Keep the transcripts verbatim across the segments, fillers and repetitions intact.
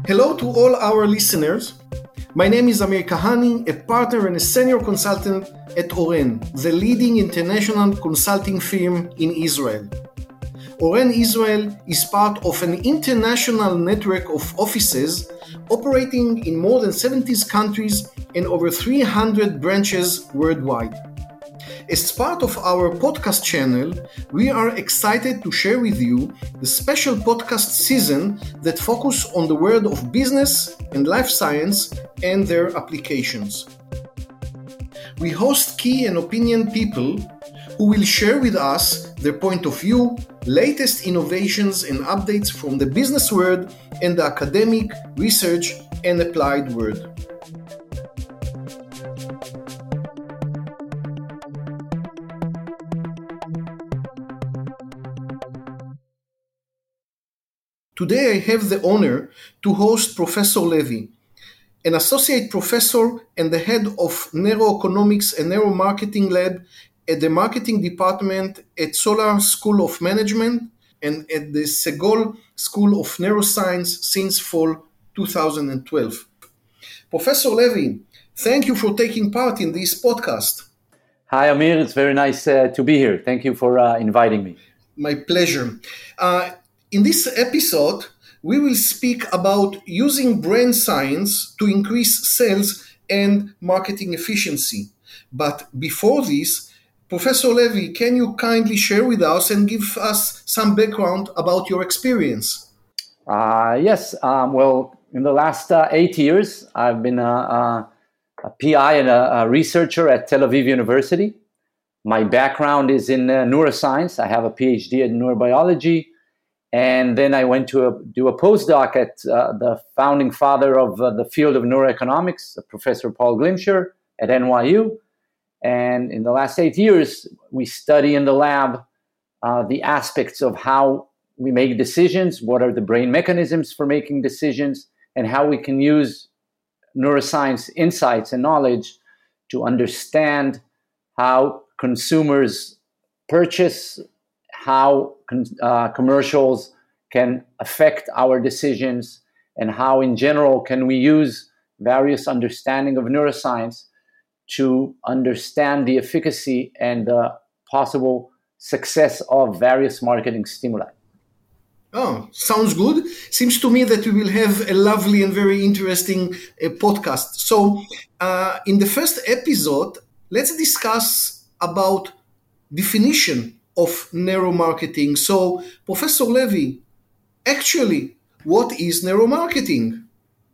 Hello to all our listeners. My name is Amir Kahani, a partner and a senior consultant at Oren, the leading international consulting firm in Israel. Oren Israel is part of an international network of offices operating in more than seventy countries and over three hundred branches worldwide. As part of our podcast channel, we are excited to share with you the special podcast season that focuses on the world of business and life science and their applications. We host key and opinion people who will share with us their point of view, latest innovations and updates from the business world and the academic, research, and applied world. Today I have the honor to host Professor Levy, an associate professor and the head of Neuroeconomics and Neuromarketing Lab at the Marketing Department at Solar School of Management and at the Segol School of Neuroscience since fall two thousand twelve. Professor Levy, thank you for taking part in this podcast. Hi, Amir. It's very nice uh, to be here. Thank you for uh, inviting me. My pleasure. Uh, In this episode, we will speak about using brain science to increase sales and marketing efficiency. But before this, Professor Levy, can you kindly share with us and give us some background about your experience? Uh, yes. Um, well, in the last uh, eight years, I've been a, a, a P I and a, a researcher at Tel Aviv University. My background is in uh, neuroscience. I have a P H D in neurobiology. And then I went to a, do a postdoc at uh, the founding father of uh, the field of neuroeconomics, Professor Paul Glimcher at N Y U. And in the last eight years, we study in the lab uh, the aspects of how we make decisions, what are the brain mechanisms for making decisions, and how we can use neuroscience insights and knowledge to understand how consumers purchase, how uh, commercials can affect our decisions, and how in general can we use various understanding of neuroscience to understand the efficacy and the possible success of various marketing stimuli. Oh, sounds good. Seems to me that we will have a lovely and very interesting uh, podcast. So uh, in the first episode, let's discuss about definition of neuromarketing. So, Professor Levy, actually, what is neuromarketing?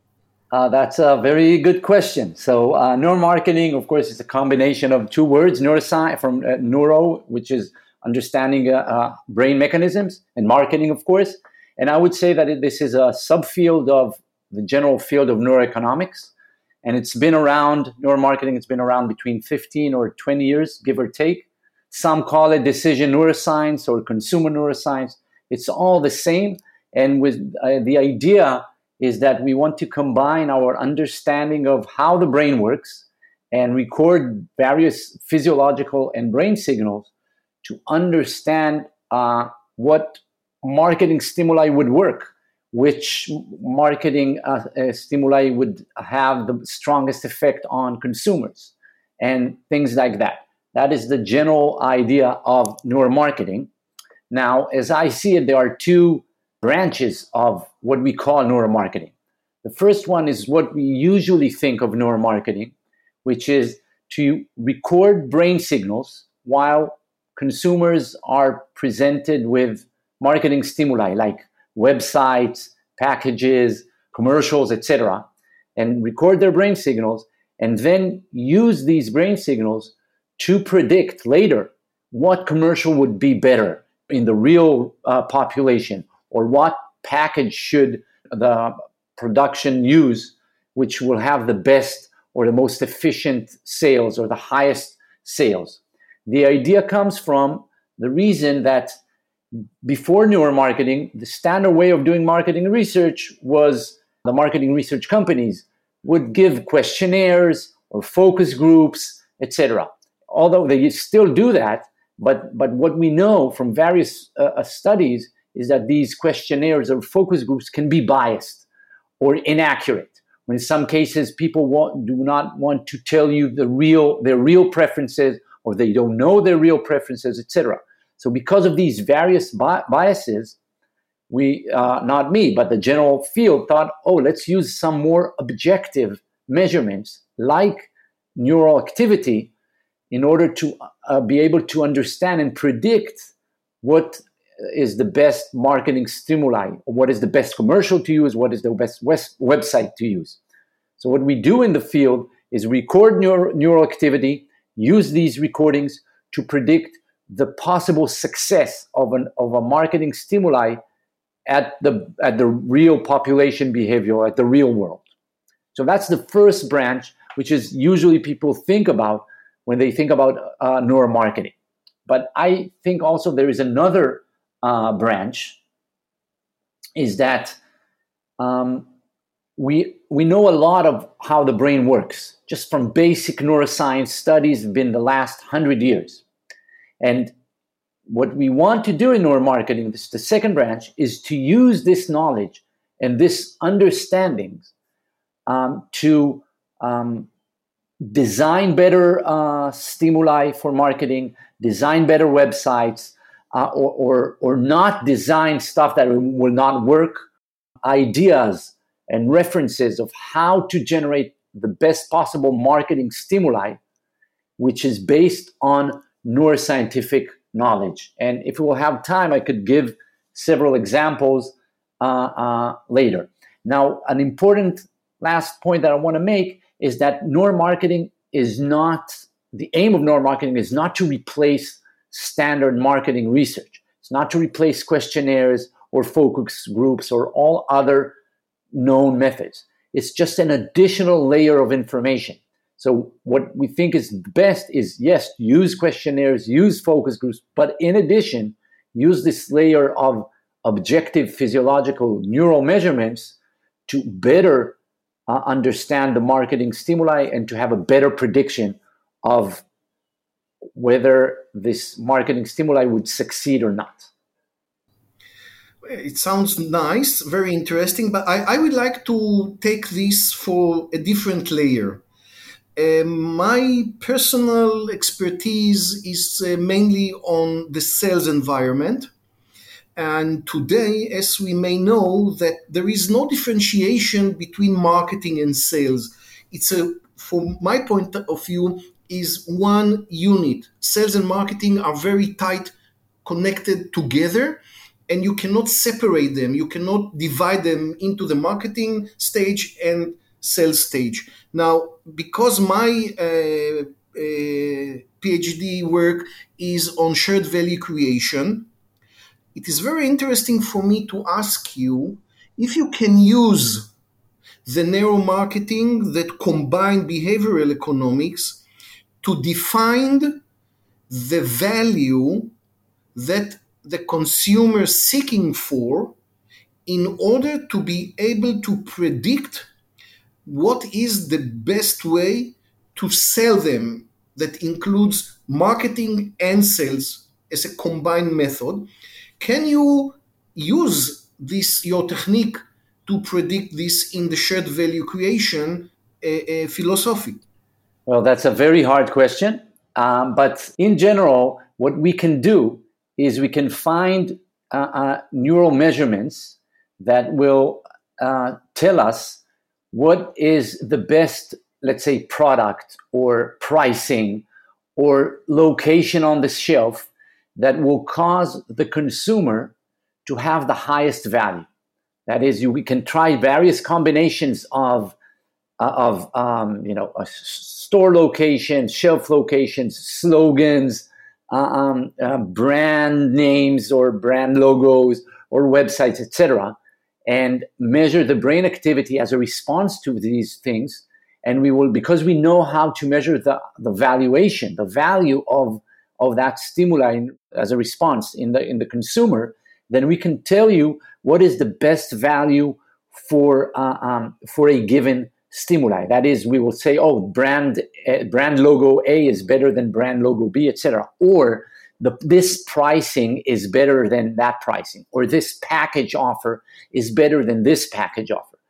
Uh, that's a very good question. So, uh, neuromarketing, of course, is a combination of two words: neuroscience from uh, neuro, which is understanding uh, uh, brain mechanisms, and marketing, of course. And I would say that it, this is a subfield of the general field of neuroeconomics, and it's been around. Neuromarketing, it's been around between fifteen or twenty years, give or take. Some call it decision neuroscience or consumer neuroscience. It's all the same. And with uh, the idea is that we want to combine our understanding of how the brain works and record various physiological and brain signals to understand uh, what marketing stimuli would work, which marketing uh, uh, stimuli would have the strongest effect on consumers, and things like that. That is the general idea of neuromarketing. Now, as I see it, there are two branches of what we call neuromarketing. The first one is what we usually think of neuromarketing, which is to record brain signals while consumers are presented with marketing stimuli like websites, packages, commercials, et cetera, and record their brain signals and then use these brain signals to predict later what commercial would be better in the real uh, population, or what package should the production use, which will have the best or the most efficient sales or the highest sales. The idea comes from the reason that before neuromarketing, the standard way of doing marketing research was the marketing research companies would give questionnaires or focus groups, et cetera. Although they still do that, but, but what we know from various uh, studies is that these questionnaires or focus groups can be biased. or inaccurate. When in some cases people want, do not want to tell you the real their real preferences, or they don't know their real preferences, et cetera. So because of these various bi- biases, we, uh, not me, but the general field thought, oh, let's use some more objective measurements like neural activity in order to uh, be able to understand and predict what is the best marketing stimuli, or what is the best commercial to use, what is the best west- website to use. So what we do in the field is record neural, neural activity, use these recordings to predict the possible success of an of a marketing stimuli at the at the real population behavior, at the real world. So that's the first branch, which is usually people think about when they think about uh, neuromarketing. But I think also there is another uh, branch, is that um, we we know a lot of how the brain works, just from basic neuroscience studies been the last hundred years. And what we want to do in neuromarketing, this, the second branch, is to use this knowledge and this understanding um, to um, design better uh, stimuli for marketing, design better websites, uh, or, or, or not design stuff that will not work, ideas and references of how to generate the best possible marketing stimuli, which is based on neuroscientific knowledge. And if we will have time, I could give several examples uh, uh, later. Now, an important last point that I want to make is that neuromarketing is not, the aim of neuromarketing is not to replace standard marketing research. It's not to replace questionnaires or focus groups or all other known methods. It's just an additional layer of information. So what we think is best is, yes, use questionnaires, use focus groups, but in addition, use this layer of objective physiological neural measurements to better uh, understand the marketing stimuli and to have a better prediction of whether this marketing stimuli would succeed or not. It sounds nice, very interesting, but I, I would like to take this for a different layer. Uh, my personal expertise is uh, mainly on the sales environment. And today, as we may know, that there is no differentiation between marketing and sales. It's a, from my point of view, is one unit. Sales and marketing are very tight connected together, and you cannot separate them. You cannot divide them into the marketing stage and sales stage. Now, because my uh, uh, PhD work is on shared value creation, it is very interesting for me to ask you if you can use the neuromarketing that combine behavioral economics to define the value that the consumer is seeking for in order to be able to predict what is the best way to sell them, that includes marketing and sales as a combined method. Can you use this, your technique, to predict this in the shared value creation uh, uh, philosophy? Well, that's a very hard question. Um, but in general, what we can do is we can find uh, uh, neural measurements that will uh, tell us what is the best, let's say, product or pricing or location on the shelf that will cause the consumer to have the highest value. That is, you, we can try various combinations of uh, of um, you know, uh, store locations, shelf locations, slogans, uh, um, uh, brand names or brand logos or websites, et cetera, and measure the brain activity as a response to these things. And we will, because we know how to measure the, the valuation, the value of, of that stimuli as a response in the in the consumer, then we can tell you what is the best value for uh, um, for a given stimuli. That is, we will say, oh, brand uh, brand logo A is better than brand logo B, et cetera. Or the, this pricing is better than that pricing, or this package offer is better than this package offer.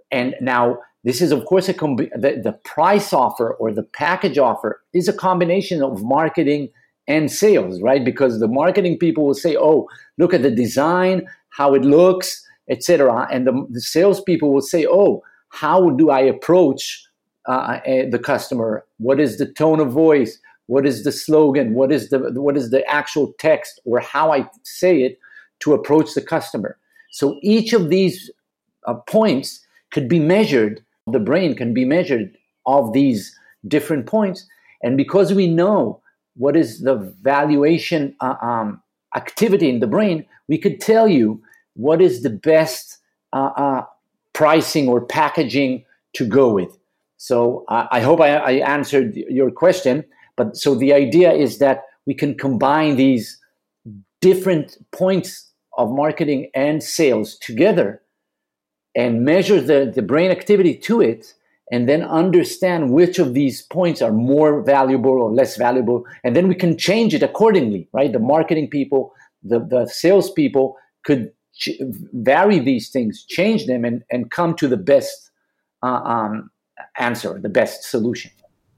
and now this is, of course, a combi- the, the price offer or the package offer is a combination of marketing and sales, right? Because the marketing people will say, oh, look at the design, how it looks, et cetera. And the, the salespeople will say, oh, how do I approach uh, the customer? What is the tone of voice? What is the slogan? What is the what is the actual text, or how I say it to approach the customer? So each of these uh, points could be measured. The brain can be measured of these different points, and because we know what is the valuation uh, um, activity in the brain, we could tell you what is the best uh, uh, pricing or packaging to go with. So uh, I hope I, I answered your question. But so the idea is that we can combine these different points of marketing and sales together and measure the, the brain activity to it, and then understand which of these points are more valuable or less valuable. And then we can change it accordingly, right? The marketing people, the, the sales people could ch- vary these things, change them, and, and come to the best uh, um, answer, the best solution.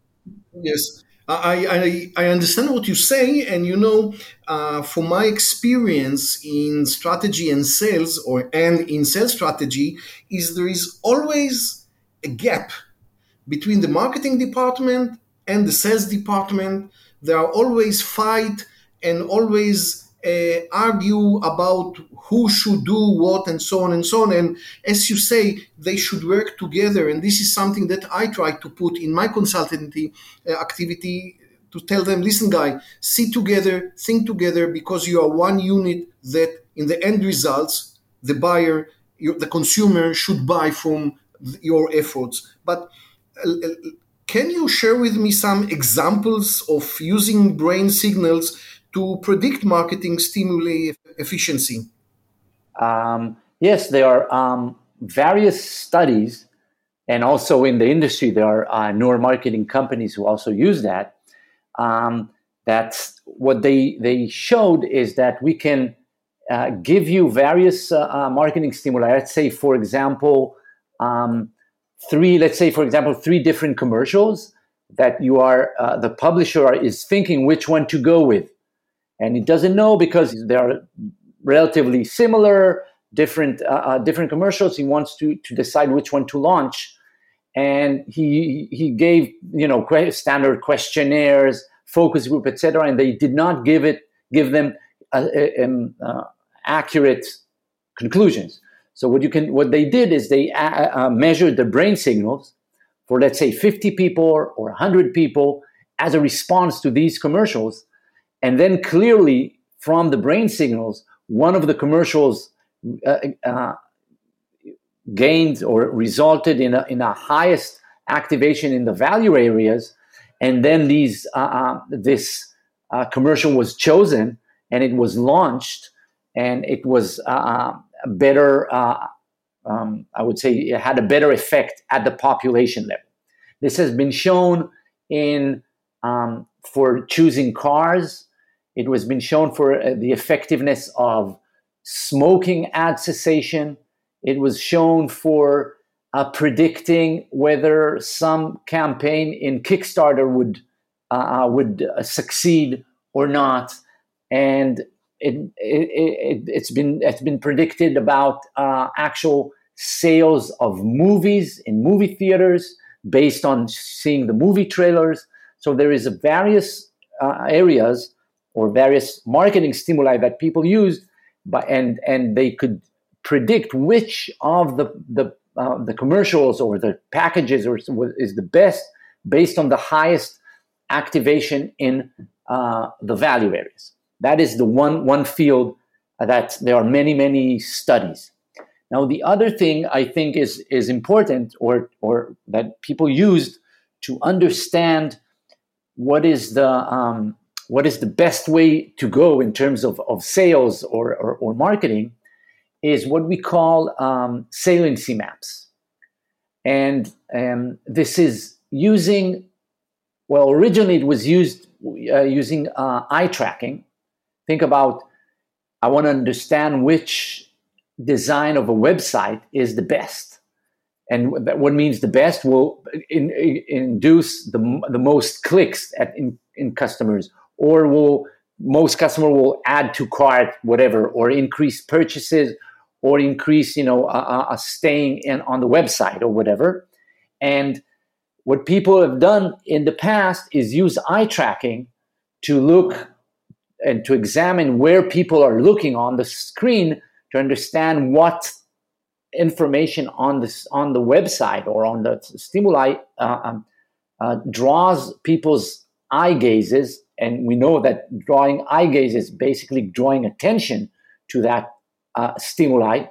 Yes. I, I, I understand what you say, and you know, uh, from my experience in strategy and sales, or and in sales strategy, is there is always a gap between the marketing department and the sales department. There are always fight and always uh, argue about who should do what, and so on and so on. And as you say, they should work together. And this is something that I try to put in my consultancy uh, activity, to tell them, listen, guy, sit together, think together, because you are one unit that in the end results, the buyer, the consumer should buy from your efforts. But uh, can you share with me some examples of using brain signals to predict marketing stimuli efficiency? Um, yes, there are um, various studies, and also in the industry, there are uh, neuromarketing companies who also use that. Um, that's what they they showed is that we can uh, give you various uh, uh, marketing stimuli. Let's say, for example, um, three. Let's say, for example, three different commercials that you are uh, the publisher is thinking which one to go with, and it doesn't know because they are relatively similar, different uh, uh, different commercials. He wants to to decide which one to launch, and he he gave you know standard questionnaires, focus group, et cetera, and they did not give it give them uh, uh, accurate conclusions. So what you can what they did is they uh, uh, measured the brain signals for, let's say, fifty people or one hundred people as a response to these commercials, and then clearly from the brain signals, one of the commercials uh, uh, gained or resulted in a, in a highest activation in the value areas, and then these uh, uh, this uh, commercial was chosen and it was launched, and it was uh, better. Uh, um, I would say it had a better effect at the population level. This has been shown in um, for choosing cars. It was been shown for uh, the effectiveness of smoking ad cessation. It was shown for uh, predicting whether some campaign in Kickstarter would uh, would uh, succeed or not, and it, it, it, it's been it's been predicted about uh, actual sales of movies in movie theaters based on seeing the movie trailers. So there is a various uh, areas or various marketing stimuli that people use, but and and they could predict which of the the uh, the commercials or the packages or is the best based on the highest activation in uh, the value areas. That is the one one field that there are many many studies. Now the other thing I think is is important, or or that people used to understand what is the um, what is the best way to go in terms of, of sales or, or, or marketing, is what we call um, saliency maps. And um, this is using, well, originally it was used uh, using uh, eye tracking. Think about, I want to understand which design of a website is the best. and that what means the best will in, in, induce the the most clicks at in, in customers, or will most customer will add to cart, whatever, or increase purchases, or increase you know a, a staying in on the website or whatever. And what people have done in the past is use eye tracking to look and to examine where people are looking on the screen to understand what information on this on the website or on the stimuli uh, um, uh, draws people's eye gazes. And we know that drawing eye gaze is basically drawing attention to that uh, stimuli.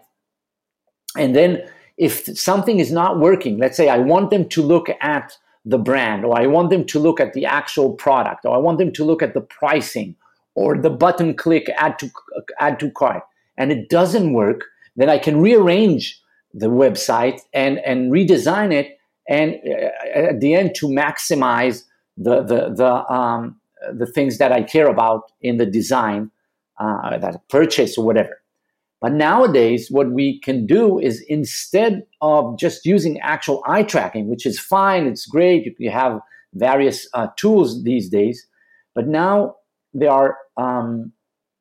And then if something is not working, let's say I want them to look at the brand, or I want them to look at the actual product, or I want them to look at the pricing, or the button click add to add to cart, and it doesn't work, then I can rearrange the website and, and redesign it, and uh, at the end to maximize the the the um, the things that I care about in the design, uh, that purchase or whatever. But nowadays, what we can do is, instead of just using actual eye tracking, which is fine, it's great, you have various uh, tools these days, but now there are um,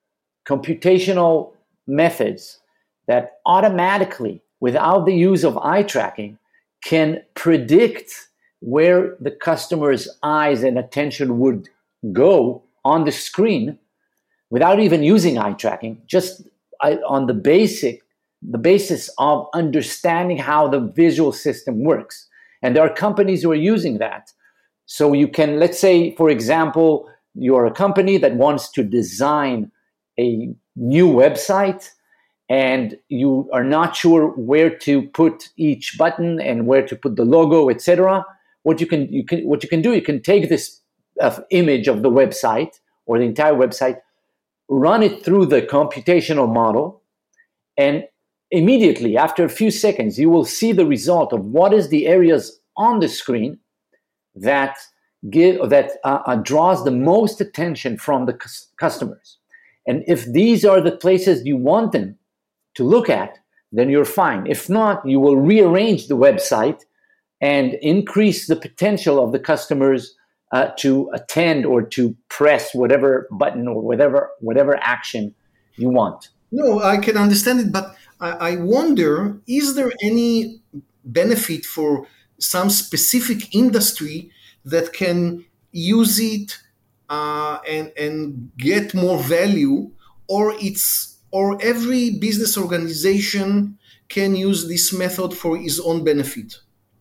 computational methods that automatically, without the use of eye tracking, can predict where the customer's eyes and attention would go on the screen without even using eye tracking, just on the basic, the basis of understanding how the visual system works. And there are companies who are using that. So you can, let's say, for example, you're a company that wants to design a new website, and you are not sure where to put each button and where to put the logo, et cetera. What you can, you can, what you can do, you can take this uh, image of the website or the entire website, run it through the computational model, and immediately, after a few seconds, you will see the result of what is the areas on the screen that give that uh, uh, draws the most attention from the cu- customers. And if these are the places you want them to look at, then you're fine. If not, you will rearrange the website and increase the potential of the customers Uh, to attend or to press whatever button or whatever whatever action you want. No, I can understand it, but I, I wonder, is there any benefit for some specific industry that can use it uh, and and get more value, or it's or every business organization can use this method for its own benefit?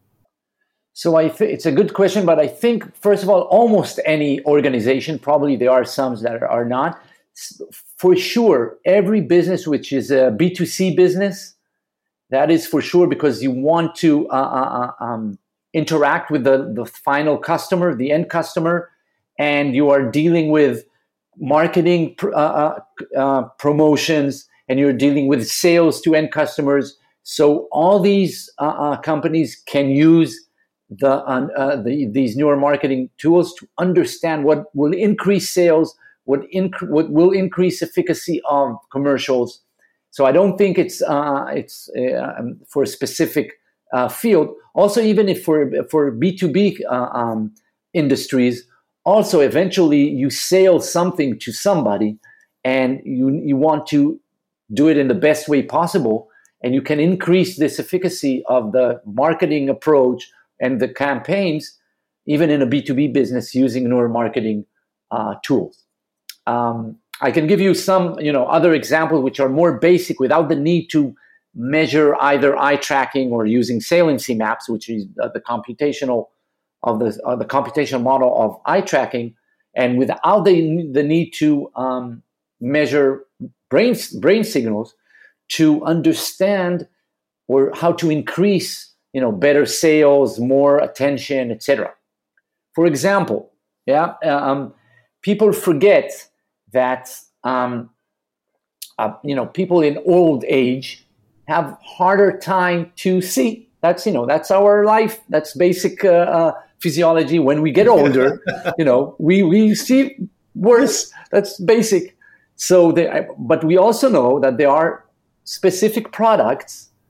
So I th- it's a good question, but I think, first of all, almost any organization, probably there are some that are not, for sure, every business which is a B two C business, that is for sure, because you want to uh, uh, um, interact with the, the final customer, the end customer, and you are dealing with marketing pr- uh, uh, promotions, and you're dealing with sales to end customers. So all these uh, uh, companies can use The, uh, uh, the these newer marketing tools to understand what will increase sales, what, inc- what will increase efficacy of commercials. So I don't think it's uh, it's uh, for a specific uh, field. Also, even if for for B two B uh, um, industries, also eventually you sell something to somebody, and you you want to do it in the best way possible, and you can increase this efficacy of the marketing approach and the campaigns, even in a B two B business, using neuromarketing uh, tools. Um, I can give you some, you know, other examples which are more basic, without the need to measure either eye tracking or using saliency maps, which is uh, the computational of the uh, the computational model of eye tracking, and without the the need to um, measure brain brain signals to understand or how to increase, you know, better sales, more attention, et cetera. For example, yeah, um, people forget that um, uh, you know, people in old age have harder time to see. That's you know, that's our life. That's basic uh, uh, physiology. When we get older, you know, we we see worse. That's basic. So, they, but we also know that there are specific products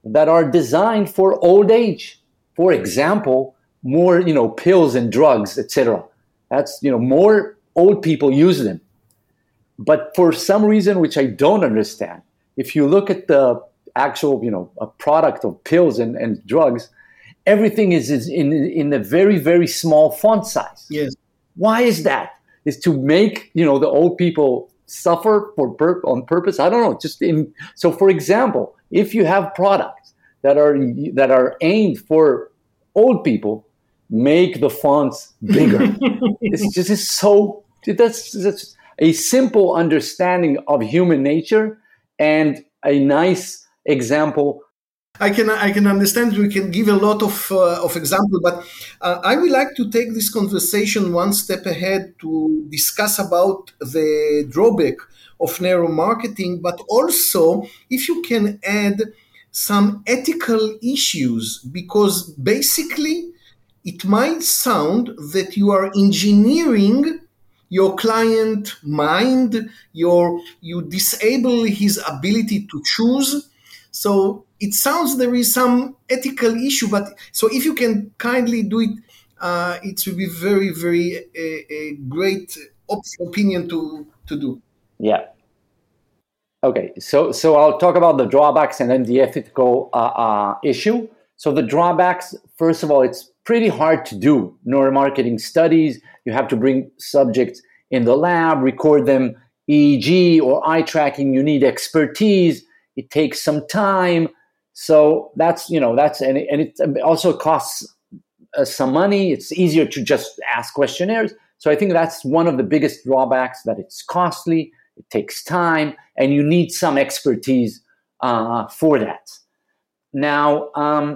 that are designed for old age. For example, more, you know, pills and drugs, et cetera. That's, you know, more old people use them. But for some reason, which I don't understand, if you look at the actual, you know, a product of pills and, and drugs, everything is, is in, in a very, very small font size. Yes. Why is that? Is to make, you know, the old people suffer for pur- on purpose? I don't know. Just in so, for example, if you have products that are that are aimed for old people, make the fonts bigger. It's just it's so that's, that's a simple understanding of human nature and a nice example. I can I can understand. We can give a lot of uh, of example, but uh, I would like to take this conversation one step ahead to discuss about the drawback of neuromarketing, but also if you can add some ethical issues, because basically it might sound that you are engineering your client mind, your you disable his ability to choose. So it sounds there is some ethical issue, but so if you can kindly do it, uh, it will be very, very a, a great op- opinion to, to do. Yeah. Okay. So so I'll talk about the drawbacks and then the ethical uh, uh, issue. So the drawbacks, first of all, it's pretty hard to do neuromarketing studies. You have to bring subjects in the lab, record them E E G or eye tracking. You need expertise. It takes some time. So that's, you know, that's, and it, and it also costs uh, some money. It's easier to just ask questionnaires. So I think that's one of the biggest drawbacks, that it's costly, it takes time, and you need some expertise uh, for that. Now, um,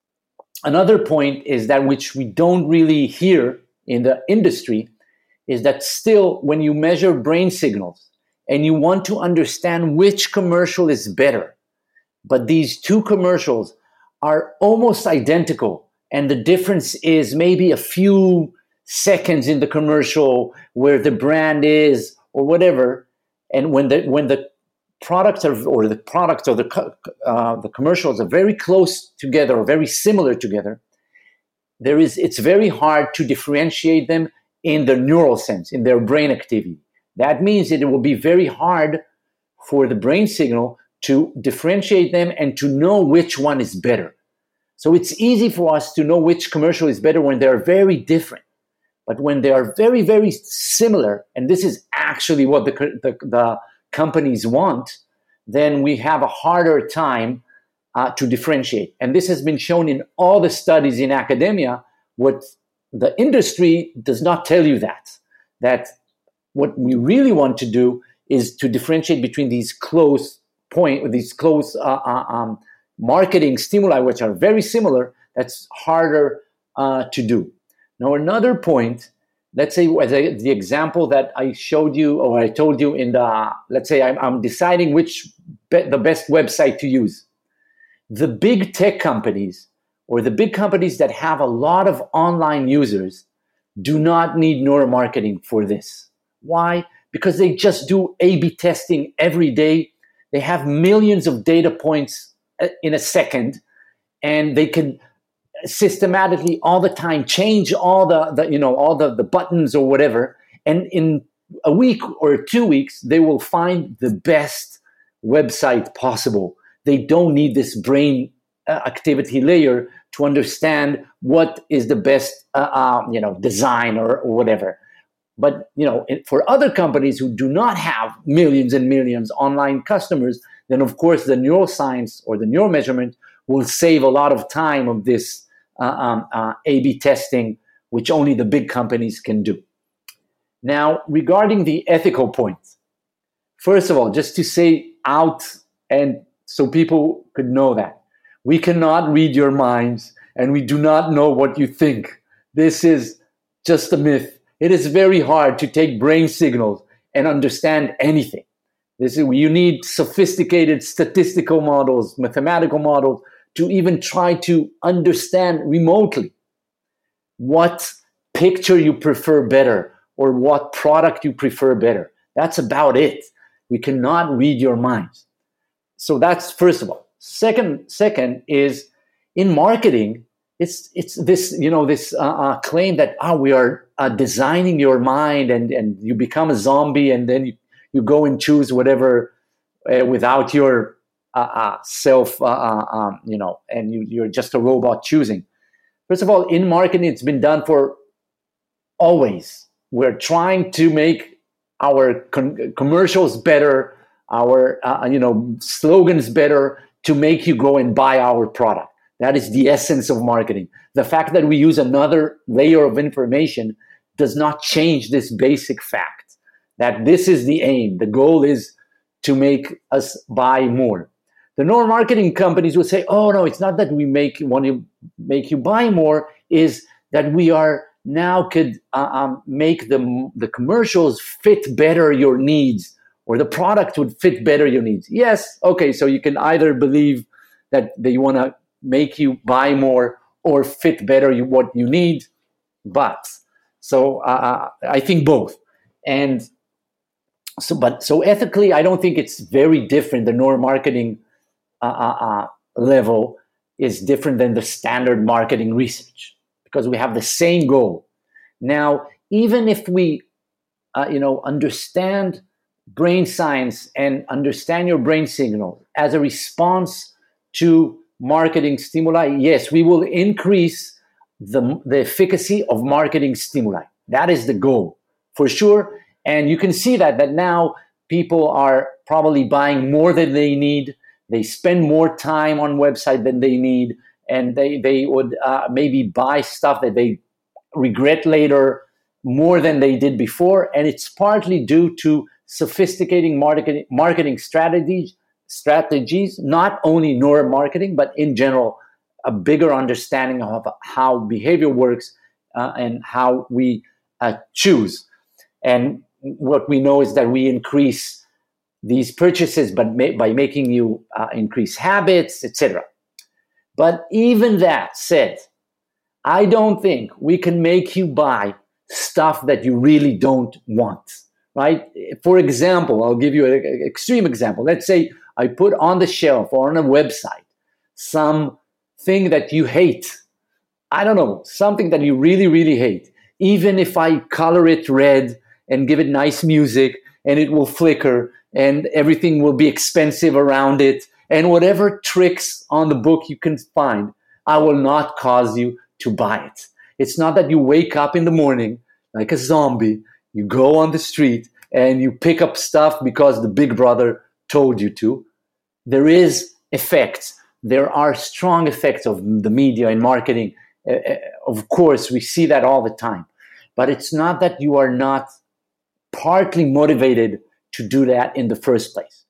another point is that, which we don't really hear in the industry, is that still when you measure brain signals and you want to understand which commercial is better, but these two commercials are almost identical, and the difference is maybe a few seconds in the commercial where the brand is or whatever, and when the when the products are, or the products or the uh, the commercials are very close together or very similar together, there is it's very hard to differentiate them in the neural sense, in their brain activity. That means that it will be very hard for the brain signal to differentiate them and to know which one is better. So it's easy for us to know which commercial is better when they're very different. But when they are very, very similar, and this is actually what the, the, the companies want, then we have a harder time uh, to differentiate. And this has been shown in all the studies in academia. What the industry does not tell you that, that what we really want to do is to differentiate between these close point, these close uh, uh, um, marketing stimuli, which are very similar. That's harder uh, to do. Now, another point, let's say as I, the example that I showed you, or I told you in the, let's say I'm, I'm deciding which be, the best website to use. The big tech companies, or the big companies that have a lot of online users, do not need neuromarketing for this. Why? Because they just do A B testing every day. They have millions of data points in a second, and they can systematically all the time change all the, the you know, all the, the buttons or whatever. And in a week or two weeks, they will find the best website possible. They don't need this brain uh, activity layer to understand what is the best, uh, uh, you know, design or, or whatever. But, you know, for other companies who do not have millions and millions online customers, then of course the neuroscience or the neuromeasurement will save a lot of time of this uh, um, uh, A B testing, which only the big companies can do. Now, regarding the ethical points, first of all, just to say out, and so people could know that, we cannot read your minds and we do not know what you think. This is just a myth. It is very hard to take brain signals and understand anything. This is, you need sophisticated statistical models, mathematical models, to even try to understand remotely what picture you prefer better or what product you prefer better. That's about it. We cannot read your minds. So that's first of all. Second, second is in marketing, it's it's this you know this uh, uh, claim that ah we are uh, designing your mind and and you become a zombie and then you, you go and choose whatever uh, without your uh, uh, self uh, uh, um, you know and you, you're just a robot choosing. First of all, in marketing, it's been done for always. We're trying to make our con- commercials better, our uh, you know slogans better, to make you go and buy our product. That is the essence of marketing. The fact that we use another layer of information does not change this basic fact that this is the aim. The goal is to make us buy more. The neuromarketing companies will say, oh, no, it's not that we make want to make you buy more, is that we are now could uh, um, make the, the commercials fit better your needs, or the product would fit better your needs. Yes, okay, so you can either believe that they want to make you buy more or fit better you, what you need, but so uh, I think both. And so, but so ethically, I don't think it's very different. The neuromarketing uh, uh, level is different than the standard marketing research because we have the same goal. Now, even if we, uh, you know, understand brain science and understand your brain signal as a response to marketing stimuli, yes, we will increase the, the efficacy of marketing stimuli. That is the goal, for sure. And you can see that, that now people are probably buying more than they need. They spend more time on website than they need, and they, they would uh, maybe buy stuff that they regret later more than they did before. And it's partly due to sophisticating marketing marketing strategies, strategies, not only neuromarketing, but in general, a bigger understanding of how behavior works uh, and how we uh, choose. And what we know is that we increase these purchases but ma- by making you uh, increase habits, et cetera. But even that said, I don't think we can make you buy stuff that you really don't want. Right? For example, I'll give you an extreme example. Let's say I put on the shelf or on a website something that you hate. I don't know, something that you really, really hate. Even if I color it red and give it nice music and it will flicker and everything will be expensive around it and whatever tricks on the book you can find, I will not cause you to buy it. It's not that you wake up in the morning like a zombie, you go on the street and you pick up stuff because the big brother told you to. There is effects. There are strong effects of the media and marketing. Uh, of course, we see that all the time. But it's not that you are not partly motivated to do that in the first place.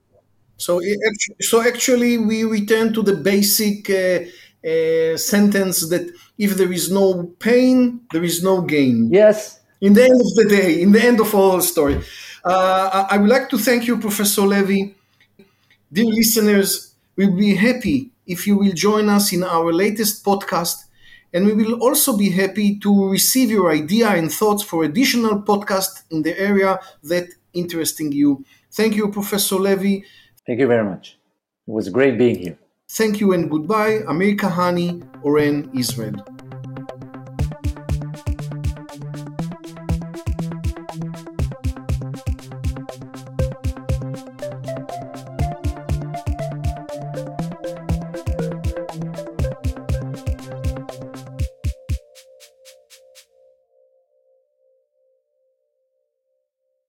So, so actually, we return to the basic uh, uh, sentence that if there is no pain, there is no gain. Yes. In the end of the day, in the end of all story. Uh, I would like to thank you, Professor Levy. Dear listeners, we'll be happy if you will join us in our latest podcast, and we will also be happy to receive your idea and thoughts for additional podcasts in the area that interesting you. Thank you, Professor Levy. Thank you very much. It was great being here. Thank you and goodbye. Amir Kahani, Oren, Israel.